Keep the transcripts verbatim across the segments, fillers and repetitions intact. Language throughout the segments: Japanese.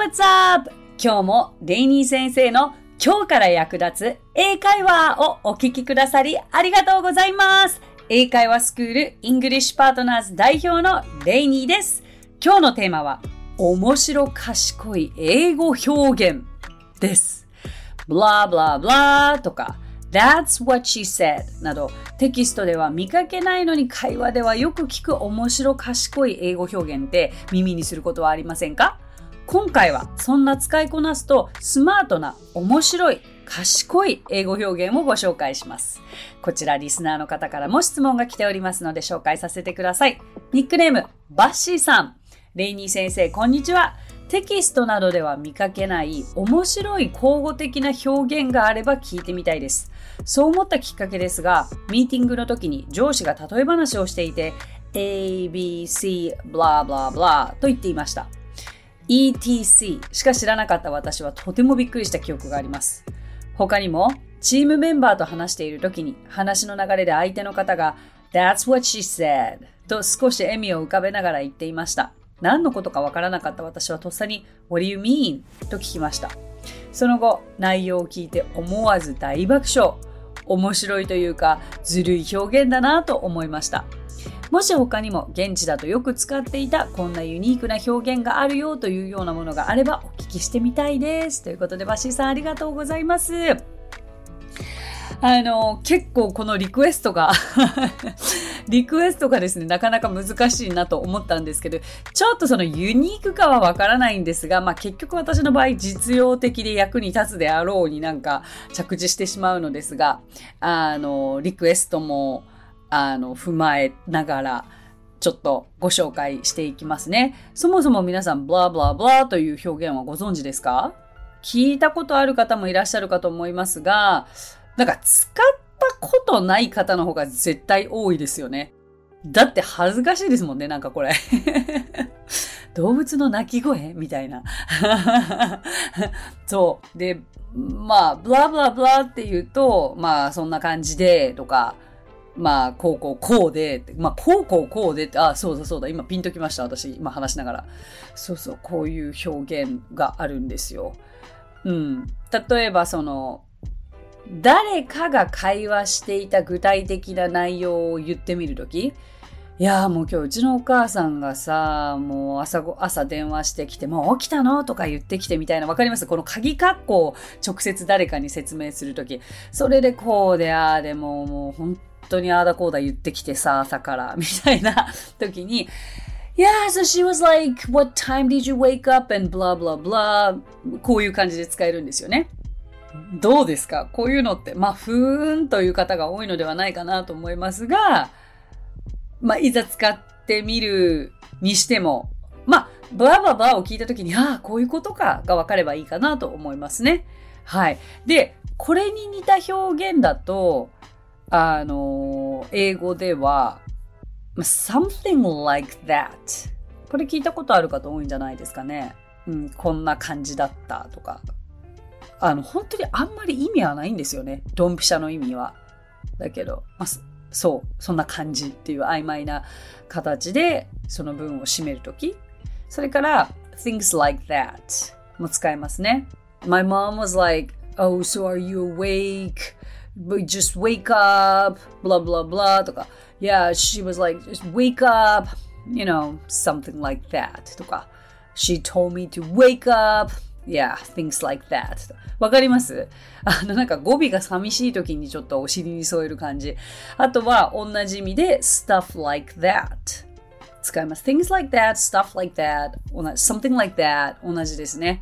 What's up? 今日もレイニー先生の今日から役立つ英会話をお聞きくださりありがとうございます。英会話スクールイングリッシュパートナーズ代表のレイニーです。今日のテーマは面白賢い英語表現です。blah blah blah とかThat's what she said などテキストでは見かけないのに会話ではよく聞く面白賢い英語表現って耳にすることはありませんか？今回はそんな使いこなすとスマートな面白い賢い英語表現をご紹介します。こちらリスナーの方からも質問が来ておりますので紹介させてください。ニックネームバッシーさん。レイニー先生こんにちは。テキストなどでは見かけない面白い口語的な表現があれば聞いてみたいです。そう思ったきっかけですが、ミーティングの時に上司が例え話をしていて A, B, C, ブラブラブラと言っていました。イーティーシー しか知らなかった私はとてもびっくりした記憶があります。他にもチームメンバーと話している時に話の流れで相手の方が That's what she said と少し笑みを浮かべながら言っていました。何のことかわからなかった私はとっさに What do you mean? と聞きました。その後内容を聞いて思わず大爆笑。面白いというかずるい表現だなと思いました。もし他にも現地だとよく使っていたこんなユニークな表現があるよというようなものがあればお聞きしてみたいです。ということでバッシーさんありがとうございます。あの結構このリクエストがリクエストがですねなかなか難しいなと思ったんですけど、ちょっとそのユニークかはわからないんですが、まあ結局私の場合実用的で役に立つであろうになんか着地してしまうのですが、あのリクエストもあの踏まえながらちょっとご紹介していきますね。そもそも皆さん blah blah blah という表現はご存知ですか？聞いたことある方もいらっしゃるかと思いますが、なんか使ったことない方の方が絶対多いですよね。だって恥ずかしいですもんね、なんかこれ。動物の鳴き声みたいな。そう。で、まあ、ブラブラブラって言うと、まあ、そんな感じで、とか、まあ、こうこうこうで、まあ、こうこうこうでって、あ、そうだそうだ、今ピンときました、私、今話しながら。そうそう、こういう表現があるんですよ。うん。例えば、その、誰かが会話していた具体的な内容を言ってみるとき、いやーもう今日うちのお母さんがさ、もう朝ご、朝電話してきて、もう起きたのとか言ってきてみたいな、わかります？この鍵括弧を直接誰かに説明するとき、それでこうであーでももう本当にあーだこうだ言ってきてさ、朝からみたいなときに、Yeah, so she was like, what time did you wake up and blah blah blah こういう感じで使えるんですよね。どうですか？こういうのって、まあ、ふーんという方が多いのではないかなと思いますが、まあ、いざ使ってみるにしても、まあ、ブラブラブラを聞いたときに、ああ、こういうことかが分かればいいかなと思いますね。はい。で、これに似た表現だと、あの、英語では、something like that。これ聞いたことある方多いんじゃないですかね。うん、こんな感じだったとか。あの、本当にあんまり意味はないんですよね。ドンピシャの意味は。だけど、まあ、そう、そんな感じっていう曖昧な形でその文を締めるとき。それから、things like that も使えますね。My mom was like, oh, so are you awake? But just wake up, blah, blah, blah とか。Yeah, she was like, just wake up, you know, something like that とか。She told me to wake up.Yeah, things like that. わかります？あの、なんか語尾が寂しい時にちょっとお尻に添える感じ。あとは同じ意味で stuff like that 使います。things like that, stuff like that, something like that 同じですね。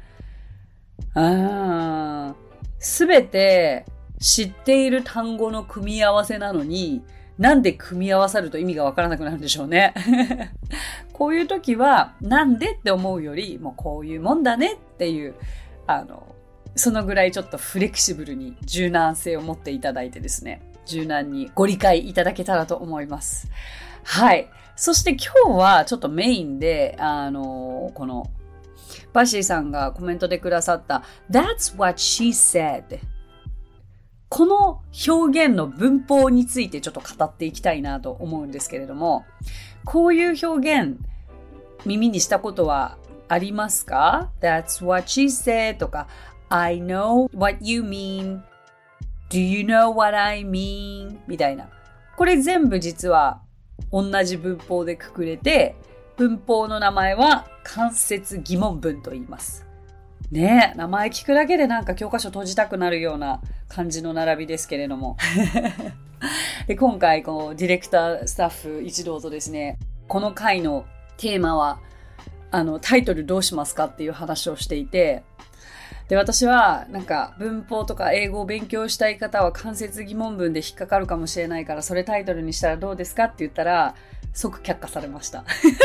あー、すべて知っている単語の組み合わせなのに、なんで組み合わさると意味がわからなくなるんでしょうね。こういう時は、なんでって思うより、もうこういうもんだねっていう、あの、そのぐらいちょっとフレキシブルに柔軟性を持っていただいてですね、柔軟にご理解いただけたらと思います。はい。そして今日はちょっとメインで、あの、この、バッシーさんがコメントでくださった、That's what she said。この表現の文法についてちょっと語っていきたいなと思うんですけれども、こういう表現、耳にしたことはありますか？ That's what she said とか I know what you mean Do you know what I mean? みたいな。これ全部実は同じ文法でくくれて、文法の名前は間接疑問文と言います。ねえ、名前聞くだけでなんか教科書閉じたくなるような感じの並びですけれども。で今回こうディレクタースタッフ一同とですね、この回のテーマはあのタイトルどうしますかっていう話をしていて、で私はなんか文法とか英語を勉強したい方は間接疑問文で引っかかるかもしれないから、それタイトルにしたらどうですかって言ったら即却下されました。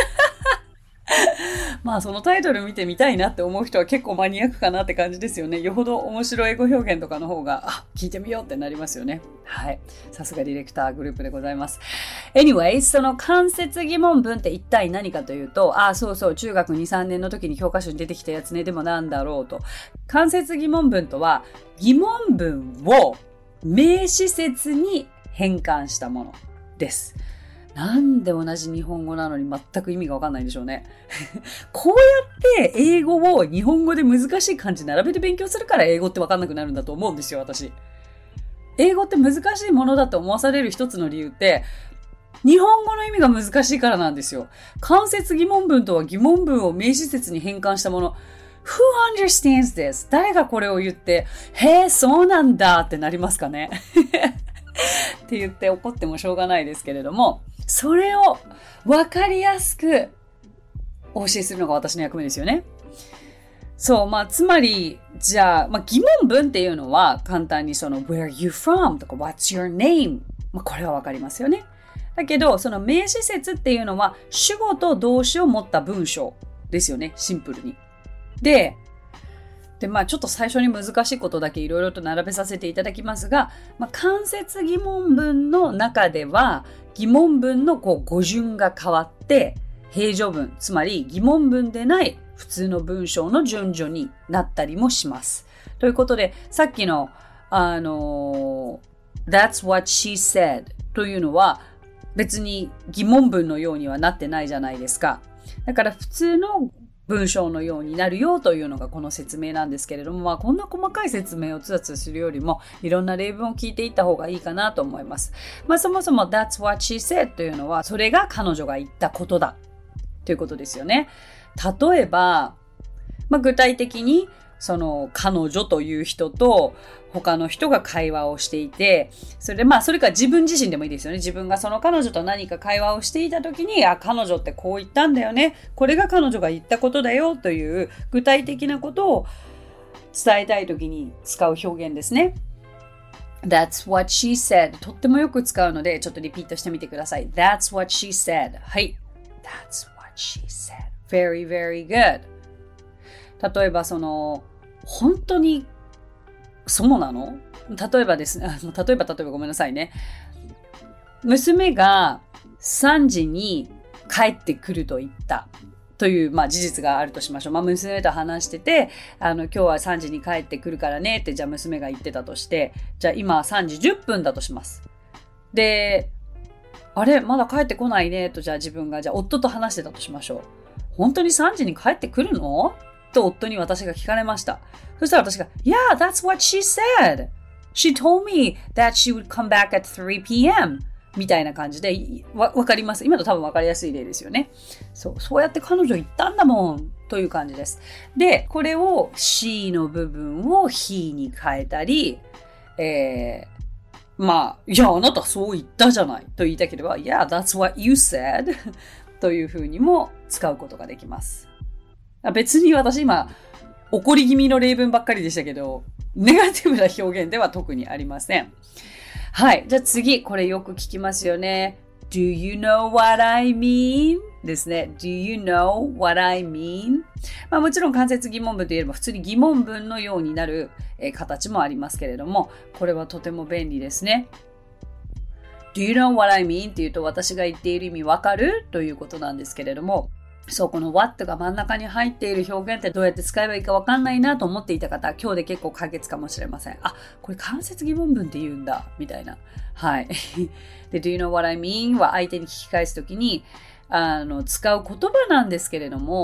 まあそのタイトル見てみたいなって思う人は結構マニアックかなって感じですよね。よほど面白い英語表現とかの方が、あ、聞いてみようってなりますよね。はい。さすがディレクターグループでございます。Anyway、その間接疑問文って一体何かというと、あ、そうそう、中学に、さんねんの時に教科書に出てきたやつね、でもなんだろうと。間接疑問文とは、疑問文を名詞説に変換したものです。なんで同じ日本語なのに全く意味がわかんないんでしょうね。こうやって英語を日本語で難しい漢字並べて勉強するから英語ってわかんなくなるんだと思うんですよ、私。英語って難しいものだと思わされる一つの理由って、日本語の意味が難しいからなんですよ。間接疑問文とは疑問文を名詞説に変換したもの。Who understands this? 誰がこれを言って、へえ、そうなんだってなりますかね。って言って怒ってもしょうがないですけれども、それを分かりやすくお教えするのが私の役目ですよね。そう、まあ、つまり、じゃあ、まあ、疑問文っていうのは簡単にその Where are you from? とか What's your name? まあ、これは分かりますよね。だけど、その名詞説っていうのは主語と動詞を持った文章ですよね。シンプルに。で、で、まあちょっと最初に難しいことだけいろいろと並べさせていただきますが、まあ、間接疑問文の中では疑問文のこう語順が変わって平常文、つまり疑問文でない普通の文章の順序になったりもします。ということで、さっきのあの That's what she said というのは別に疑問文のようにはなってないじゃないですか。だから普通の文章のようになるよというのがこの説明なんですけれども、まあこんな細かい説明をつらつらするよりもいろんな例文を聞いていった方がいいかなと思います。まあそもそも That's what she said というのはそれが彼女が言ったことだということですよね。例えば、まあ具体的にその彼女という人と他の人が会話をしていて、それでまあそれか自分自身でもいいですよね。自分がその彼女と何か会話をしていたときに、あ、彼女ってこう言ったんだよね。これが彼女が言ったことだよという具体的なことを伝えたいときに使う表現ですね。That's what she said. とってもよく使うので、ちょっとリピートしてみてください。That's what she said. はい。That's what she said. Very, very good. 例えばその、本当にそうなの？例えばですね、例えば例えばごめんなさいね。娘がさんじに帰ってくると言ったという、まあ、事実があるとしましょう。まあ、娘と話してて、あの今日はさんじに帰ってくるからねってじゃあ娘が言ってたとして、じゃあ今さんじじゅっぷんだとします。で、あれまだ帰ってこないねとじゃあ自分がじゃあ夫と話してたとしましょう。本当にさんじに帰ってくるの？と夫に私が聞かれました。そしたら私が Yeah, that's what she said. She told me that she would come back at three p.m. みたいな感じでわ、わかります。今の多分わかりやすい例ですよね。そう、そうやって彼女言ったんだもんという感じです。で、これを she の部分を he に変えたり、えー、まあ、いや、あなたそう言ったじゃないと言いたければ Yeah, that's what you said というふうにも使うことができます。別に私今怒り気味の例文ばっかりでしたけど、ネガティブな表現では特にありません。はい。じゃあ次、これよく聞きますよね。Do you know what I mean? ですね。Do you know what I mean? まあもちろん間接疑問文といえば普通に疑問文のようになる、えー、形もありますけれども、これはとても便利ですね。Do you know what I mean? っていうと私が言っている意味わかるということなんですけれども、そう、この what が真ん中に入っている表現ってどうやって使えばいいかわかんないなと思っていた方、今日で結構解決かもしれません。あ、これ間接疑問文って言うんだ、みたいな。はい。で、do you know what I mean? は相手に聞き返すときに、あの、使う言葉なんですけれども、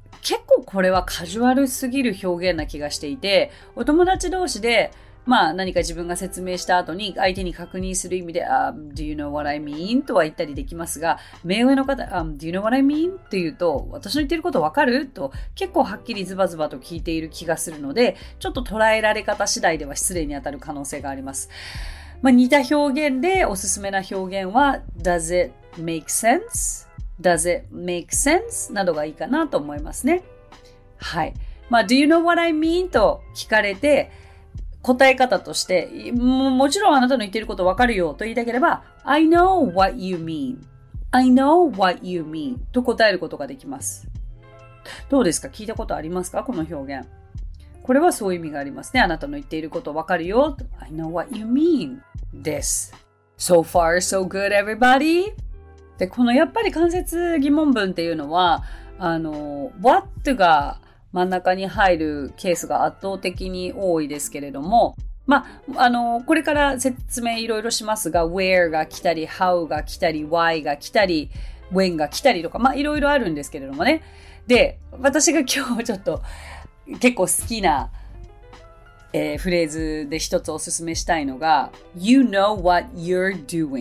結構これはカジュアルすぎる表現な気がしていて、お友達同士で、まあ何か自分が説明した後に相手に確認する意味で、um, Do you know what I mean? とは言ったりできますが、目上の方、um, Do you know what I mean? って言うと、私の言ってることわかると結構はっきりズバズバと聞いている気がするので、ちょっと捉えられ方次第では失礼に当たる可能性があります。まあ、似た表現でおすすめな表現は Does it make sense?Does it make sense? などがいいかなと思いますね。はい。まあ、Do you know what I mean? と聞かれて、答え方として、も、もちろんあなたの言っていることわかるよと言いたければ、I know what you mean.I know what you mean. と答えることができます。どうですか？聞いたことありますか？この表現。これはそういう意味がありますね。あなたの言っていることわかるよ。I know what you mean. です。So far, so good, everybody. で、このやっぱり間接疑問文っていうのは、あの、what が真ん中に入るケースが圧倒的に多いですけれども、まあ、あの、これから説明いろいろしますが、where が来たり、how が来たり、why が来たり、when が来たりとか、まあ、いろいろあるんですけれどもね。で、私が今日ちょっと結構好きな、えー、フレーズで一つおすすめしたいのが、You know what you're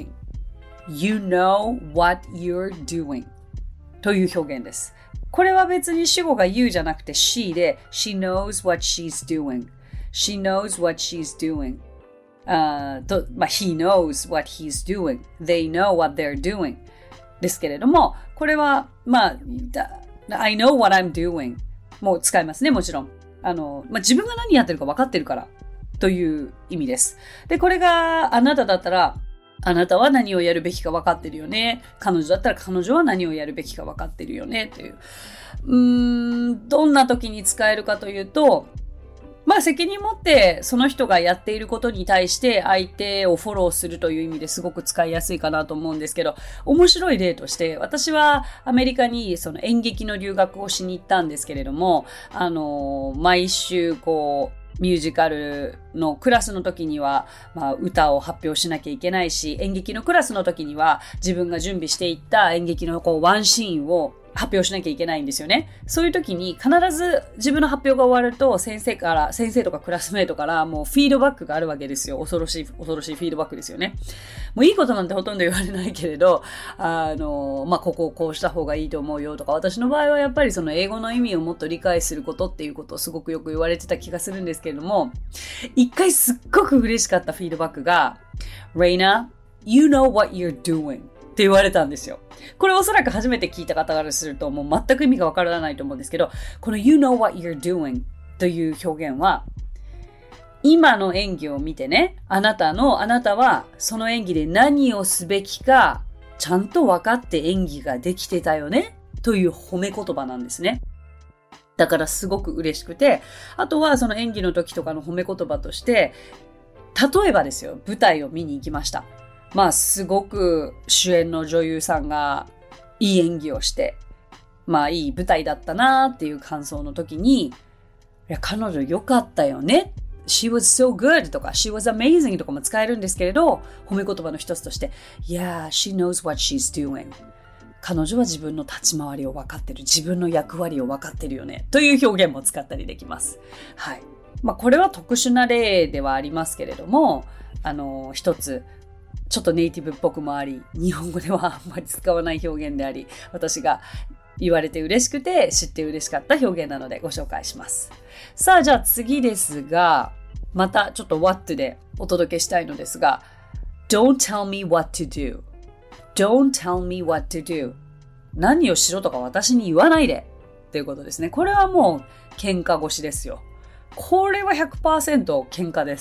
doing.You know what you're doing という表現です。これは別に主語が you じゃなくて she で she knows what she's doing. She knows what she's doing. あと、まあ、he knows what he's doing. They know what they're doing. ですけれども、これは、まあ、I know what I'm doing もう使いますね、もちろん。あの、まあ、自分が何やってるか分かってるからという意味です。で、これがあなただったら、あなたは何をやるべきか分かってるよね。彼女だったら彼女は何をやるべきか分かってるよね。という。うーん、どんな時に使えるかというと、まあ責任持ってその人がやっていることに対して相手をフォローするという意味ですごく使いやすいかなと思うんですけど、面白い例として私はアメリカにその演劇の留学をしに行ったんですけれども、あの、毎週こう、ミュージカルのクラスの時には、まあ、歌を発表しなきゃいけないし、演劇のクラスの時には自分が準備していった演劇のこうワンシーンを発表しなきゃいけないんですよね。そういう時に必ず自分の発表が終わると先生から、先生とかクラスメイトからもうフィードバックがあるわけですよ。恐ろしい、恐ろしいフィードバックですよね。もういいことなんてほとんど言われないけれど、あの、まあ、ここをこうした方がいいと思うよとか、私の場合はやっぱりその英語の意味をもっと理解することっていうことをすごくよく言われてた気がするんですけれども、一回すっごく嬉しかったフィードバックが、Reina, you know what you're doing.って言われたんですよ。これおそらく初めて聞いた方からするともう全く意味がわからないと思うんですけど、この You know what you're doing という表現は、今の演技を見てね、あなたの、あなたはその演技で何をすべきかちゃんと分かって演技ができてたよねという褒め言葉なんですね。だからすごく嬉しくて、あとはその演技の時とかの褒め言葉として、例えばですよ、舞台を見に行きました。まあすごく主演の女優さんがいい演技をして、まあいい舞台だったなっていう感想の時に、いや彼女良かったよね。She was so good とか She was amazing とかも使えるんですけれど、褒め言葉の一つとして Yeah, she knows what she's doing. 彼女は自分の立ち回りを分かってる。自分の役割を分かってるよね。という表現も使ったりできます。はい。まあこれは特殊な例ではありますけれども、あの、一つちょっとネイティブっぽくもあり、日本語ではあんまり使わない表現であり、私が言われて嬉しくて知って嬉しかった表現なのでご紹介します。さあ、じゃあ次ですが、またちょっと what でお届けしたいのですが、Don't tell me what to do. Don't tell me what to do. 何をしろとか私に言わないで。ということですね。これはもう喧嘩腰ですよ。これは ひゃくパーセント 喧嘩です。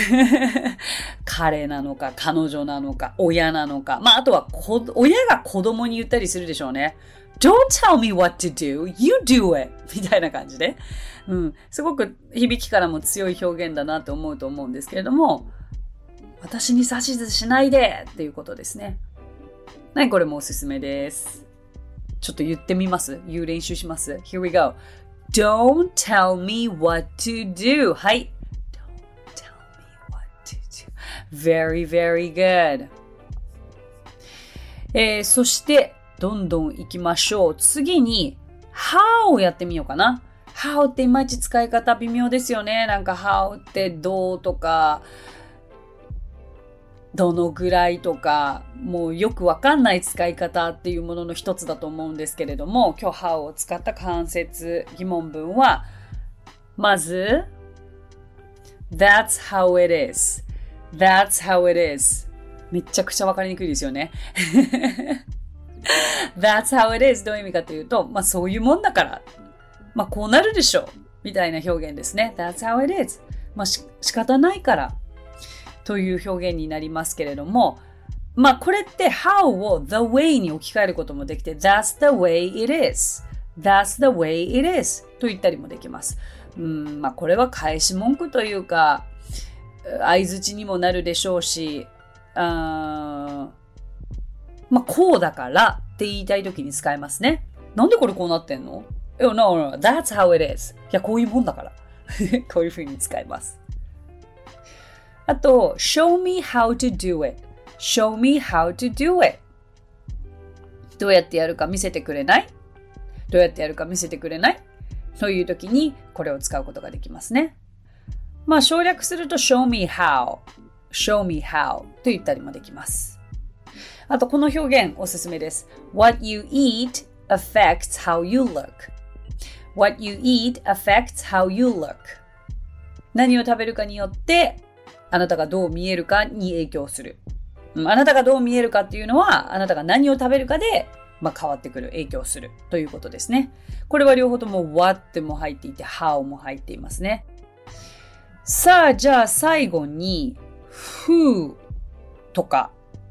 彼なのか、彼女なのか、親なのか。まあ、あとはこ、親が子供に言ったりするでしょうね。Don't tell me what to do. You do it. みたいな感じで。うん。すごく響きからも強い表現だなと思うと思うんですけれども、私に指図しないでっていうことですね。はい、これもおすすめです。ちょっと言ってみます？言う練習します？ Here we go.Don't tell me what to do. はい。Don't tell me what to do. Very, very good. えー、そして、どんどん行きましょう。次に、 how をやってみようかな。how っていまいち使い方微妙ですよね。なんか how ってどうとか、どのぐらいとか、もうよくわかんない使い方っていうものの一つだと思うんですけれども、今日 how を使った間接疑問文は、まず、That's how it is.That's how it is. めちゃくちゃわかりにくいですよね。That's how it is. どういう意味かというと、まあそういうもんだから、まあこうなるでしょう。みたいな表現ですね。That's how it is. まあし仕方ないからという表現になりますけれども、まあこれって how を the way に置き換えることもできて、That's the way it is.That's the way it is. と言ったりもできます。うんまあこれは返し文句というか、相槌にもなるでしょうし、あまあ、こうだからって言いたいときに使えますね。なんでこれこうなってんの？ No, no, no, that's how it is. いや、こういうもんだから。こういうふうに使います。あと、show me how to do it.show me how to do it. どうやってやるか見せてくれない？どうやってやるか見せてくれない？というときにこれを使うことができますね。まあ省略すると show me how、show me how と言ったりもできます。あとこの表現おすすめです。What you eat affects how you look.What you eat affects how you look. 何を食べるかによってあなたがどう見えるかに影響する。あなたがどう見えるかっていうのはあなたが何を食べるかで、まあ、変わってくる、影響するということですね。これは両方とも what も入っていて how も入っていますね。さあ、じゃあ最後に who とか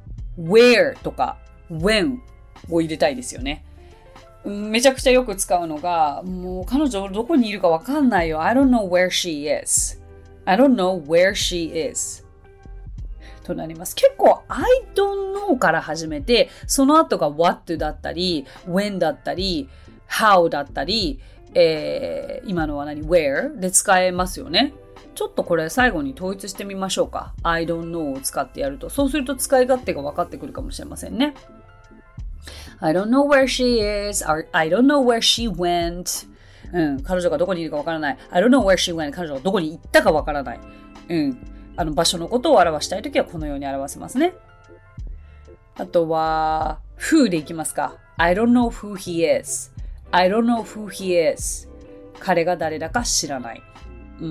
where とか when を入れたいですよね。めちゃくちゃよく使うのが、もう彼女どこにいるかわかんないよ。I don't know where she is. I don't know where she is. となります。結構 I don't know から始めて、その後が what だったり、when だったり、how だったり、えー、今のは何 where で使えますよね。ちょっとこれ最後に統一してみましょうか。I don't know を使ってやると、そうすると使い勝手が分かってくるかもしれませんね。I don't know where she is. I don't know where she went. うん、彼女がどこにいるか分からない。I don't know where she went. 彼女がどこに行ったか分からない。うん、あの場所のことを表したいときはこのように表せますね。あとは who でいきますか。I don't know who he is. I don't know who he is. 彼が誰だか知らない。うん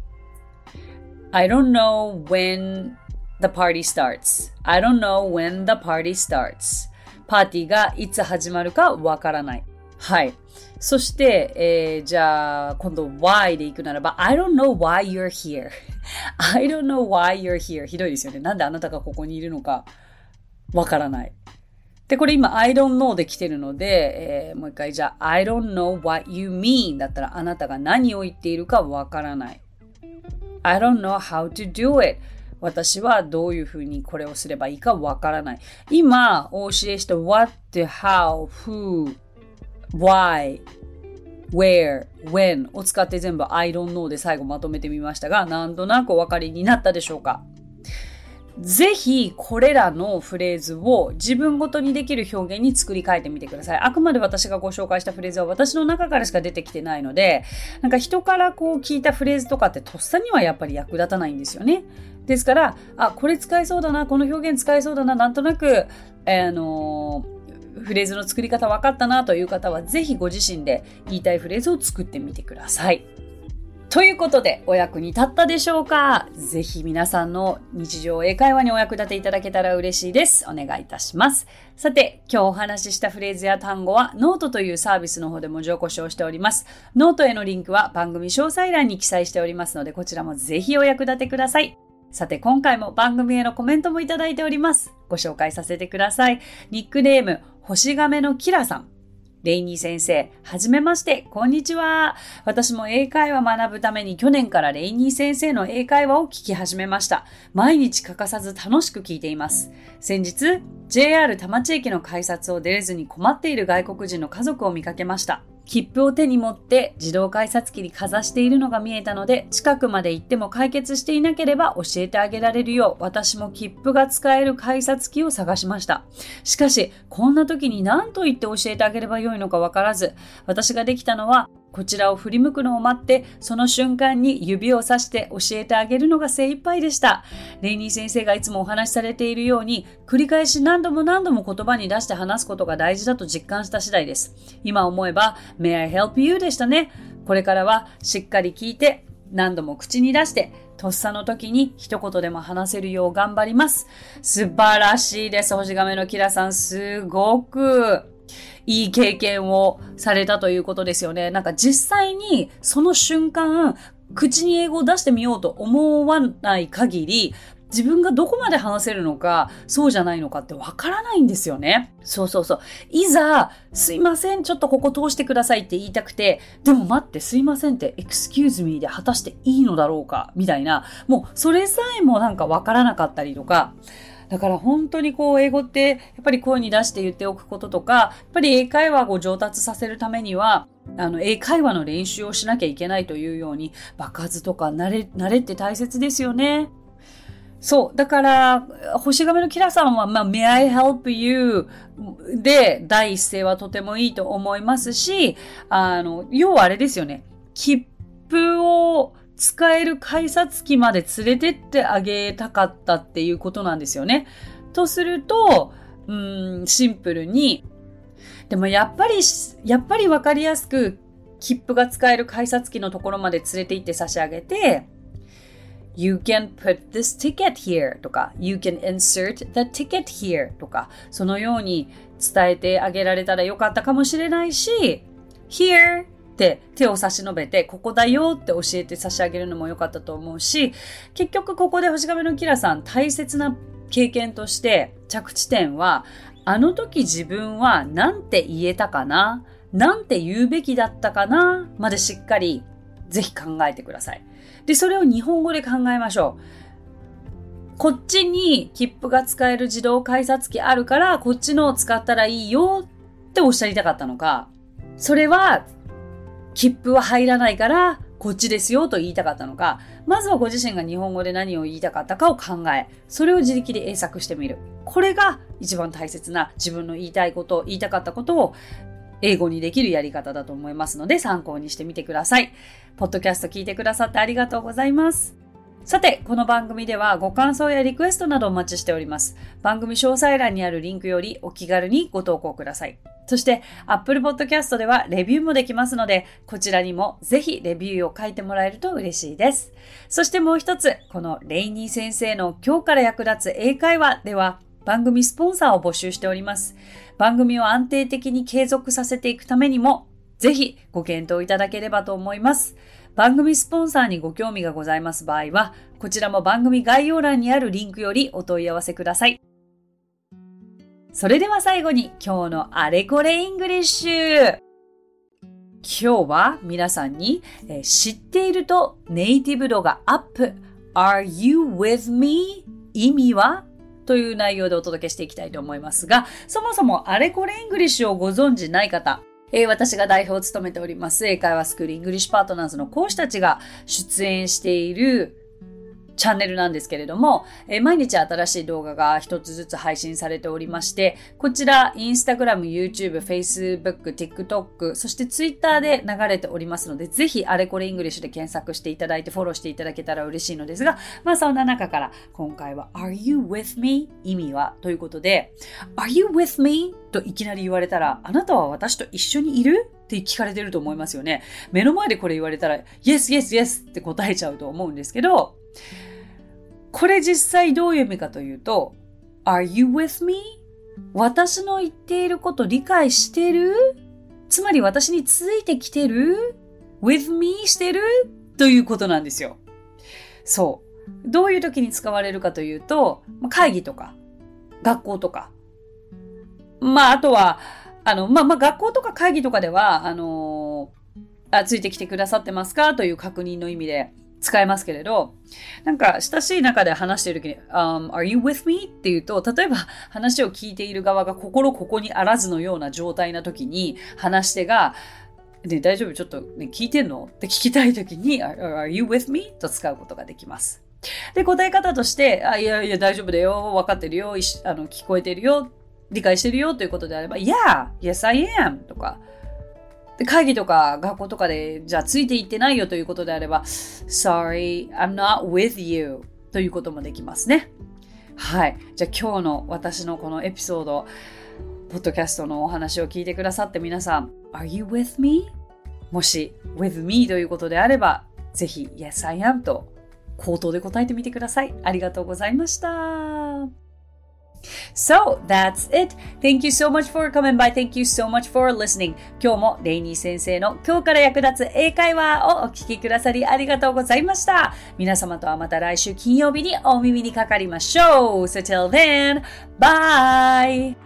。I don't know when the party starts. I don't know when the party starts. パーティーがいつ始まるかわからない。はい。そして、えー、じゃあ、今度 why で行くならば I don't know why you're here. I don't know why you're here. ひどいですよね。なんであなたがここにいるのかわからない。で、これ今 I don't know で来てるので、えー、もう一回じゃあ I don't know what you mean だったらあなたが何を言っているかわからない。I don't know how to do it. 私はどういうふうにこれをすればいいかわからない。今、お教えした what, how, who, why, where, when を使って全部 I don't know で最後まとめてみましたが、なんとなくお分かりになったでしょうか？ぜひこれらのフレーズを自分ごとにできる表現に作り変えてみてください。あくまで私がご紹介したフレーズは私の中からしか出てきてないので、なんか人からこう聞いたフレーズとかってとっさにはやっぱり役立たないんですよね。ですから、あ、これ使えそうだな、この表現使えそうだな、なんとなく、あのー、フレーズの作り方分かったなという方はぜひご自身で言いたいフレーズを作ってみてください。ということで、お役に立ったでしょうか？ぜひ皆さんの日常英会話にお役立ていただけたら嬉しいです。お願いいたします。さて、今日お話ししたフレーズや単語はノートというサービスの方で文字起こしをしております。ノートへのリンクは番組詳細欄に記載しておりますので、こちらもぜひお役立てください。さて、今回も番組へのコメントもいただいております。ご紹介させてください。ニックネーム、星亀のキラさん。レイニー先生、はじめまして、こんにちは。私も英会話学ぶために去年からレイニー先生の英会話を聞き始めました。毎日欠かさず楽しく聞いています。先日、ジェイアール 田町駅の改札を出れずに困っている外国人の家族を見かけました。 切符を手に持って自動改札機にかざしているのが見えたので、近くまで行っても解決していなければ教えてあげられるよう、私も切符が使える改札機を探しました。しかし、こんな時に何と言って教えてあげればよいのかわからず、私ができたのは、こちらを振り向くのを待って、その瞬間に指をさして教えてあげるのが精一杯でした。レイニー先生がいつもお話しされているように、繰り返し何度も何度も言葉に出して話すことが大事だと実感した次第です。今思えば、May I help you でしたね。これからはしっかり聞いて、何度も口に出して、とっさの時に一言でも話せるよう頑張ります。素晴らしいです。星亀のキラさん、すごくいい経験をされたということですよね。なんか実際にその瞬間、口に英語を出してみようと思わない限り、自分がどこまで話せるのか、そうじゃないのかってわからないんですよね。そうそうそう。いざ、すいません、ちょっとここ通してくださいって言いたくて、でも待って、すいませんって、excuse me で果たしていいのだろうか、みたいな、もうそれさえもなんかわからなかったりとか、だから本当にこう英語ってやっぱり声に出して言っておくこととか、やっぱり英会話を上達させるためには、あの英会話の練習をしなきゃいけないというように、場数とか慣れ、慣れって大切ですよね。そう。だから、星亀のキラさんは、まあ、May I help you で、第一声はとてもいいと思いますし、あの、要はあれですよね。切符を使える改札機まで連れてってあげたかったっていうことなんですよね。とすると、うーん、シンプルに、でもやっぱり、やっぱりわかりやすく、切符が使える改札機のところまで連れて行って差し上げて、You can put this ticket here とか You can insert the ticket here とかそのように伝えてあげられたらよかったかもしれないし Here って手を差し伸べてここだよって教えて差し上げるのもよかったと思うし結局ここで星亀のキラさん大切な経験として着地点はあの時自分はなんて言えたかななんて言うべきだったかなまでしっかりぜひ考えてください。で、それを日本語で考えましょう。こっちに切符が使える自動改札機あるから、こっちのを使ったらいいよっておっしゃりたかったのか、それは切符は入らないからこっちですよと言いたかったのか、まずはご自身が日本語で何を言いたかったかを考え、それを自力で英作してみる。これが一番大切な自分の言いたいこと、言いたかったことを英語にできるやり方だと思いますので参考にしてみてください。ポッドキャスト聞いてくださってありがとうございます。さて、この番組ではご感想やリクエストなどお待ちしております。番組詳細欄にあるリンクよりお気軽にご投稿ください。そして Apple Podcast ではレビューもできますので、こちらにもぜひレビューを書いてもらえると嬉しいです。そしてもう一つ、このレイニー先生の今日から役立つ英会話では番組スポンサーを募集しております。番組を安定的に継続させていくためにも、ぜひご検討いただければと思います。番組スポンサーにご興味がございます場合は、こちらも番組概要欄にあるリンクよりお問い合わせください。それでは最後に今日のあれこれイングリッシュ。今日は皆さんに、えー、知っているとネイティブ度がアップ。Are you with me? 意味はという内容でお届けしていきたいと思いますが、そもそもあれこれイングリッシュをご存知ない方、えー、私が代表を務めております英会話スクールイングリッシュパートナーズの講師たちが出演しているチャンネルなんですけれども、えー、毎日新しい動画が一つずつ配信されておりまして、こちら、インスタグラム、YouTube、Facebook、TikTok、そして Twitter で流れておりますので、ぜひあれこれイングリッシュで検索していただいてフォローしていただけたら嬉しいのですが、まあそんな中から今回は Are you with me? 意味はということで、Are you with me? といきなり言われたら、あなたは私と一緒にいるって聞かれてると思いますよね。目の前でこれ言われたら、Yes, yes, yes って答えちゃうと思うんですけど、これ実際どういう意味かというと、Are you with me? 私の言っていること理解してる？つまり私についてきてる？ with me してる？ということなんですよ。そう。どういう時に使われるかというと、会議とか、学校とか。まあ、あとは、あの、まあ、まあ、学校とか会議とかでは、あのー、あ、ついてきてくださってますかという確認の意味で、使えますけれど、なんか親しい中で話している時に、um, Are you with me? っていうと、例えば話を聞いている側が心ここにあらずのような状態な時に、話し手がね、大丈夫ちょっと、ね、聞いてんのって聞きたいときに are, are you with me? と使うことができます。で、答え方として、あ、いやいや大丈夫だよ、分かってるよ、あの聞こえてるよ、理解してるよということであれば Yeah, yes I am とか、で会議とか学校とかでじゃあついていってないよということであれば Sorry, I'm not with you ということもできますね。はい。じゃあ今日の私のこのエピソード、ポッドキャストのお話を聞いてくださって皆さん Are you with me? もし with me ということであればぜひ Yes I am と口頭で答えてみてください。ありがとうございました。So, that's it. Thank you so much for coming by. Thank you so much for listening. 今日もレイニー先生の今日から役立つ英会話をお聞きくださりありがとうございました。皆様とはまた来週金曜日にお耳にかかりましょう。So till then, bye!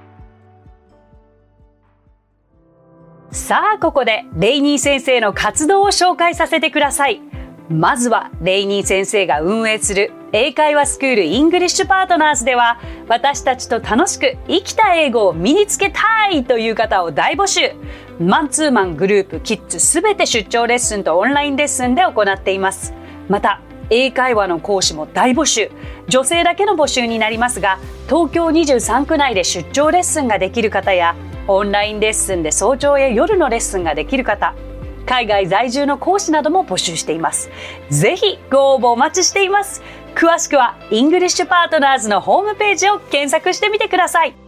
さあ、ここでレイニー先生の活動を紹介させてください。まずはレイニー先生が運営する英会話スクールイングリッシュパートナーズでは私たちと楽しく生きた英語を身につけたいという方を大募集。マンツーマン、グループ、キッズすべて出張レッスンとオンラインレッスンで行っています。また英会話の講師も大募集。女性だけの募集になりますが東京にじゅうさんく内で出張レッスンができる方やオンラインレッスンで早朝や夜のレッスンができる方、海外在住の講師なども募集しています。ぜひご応募お待ちしています。詳しくはイングリッシュパートナーズのホームページを検索してみてください。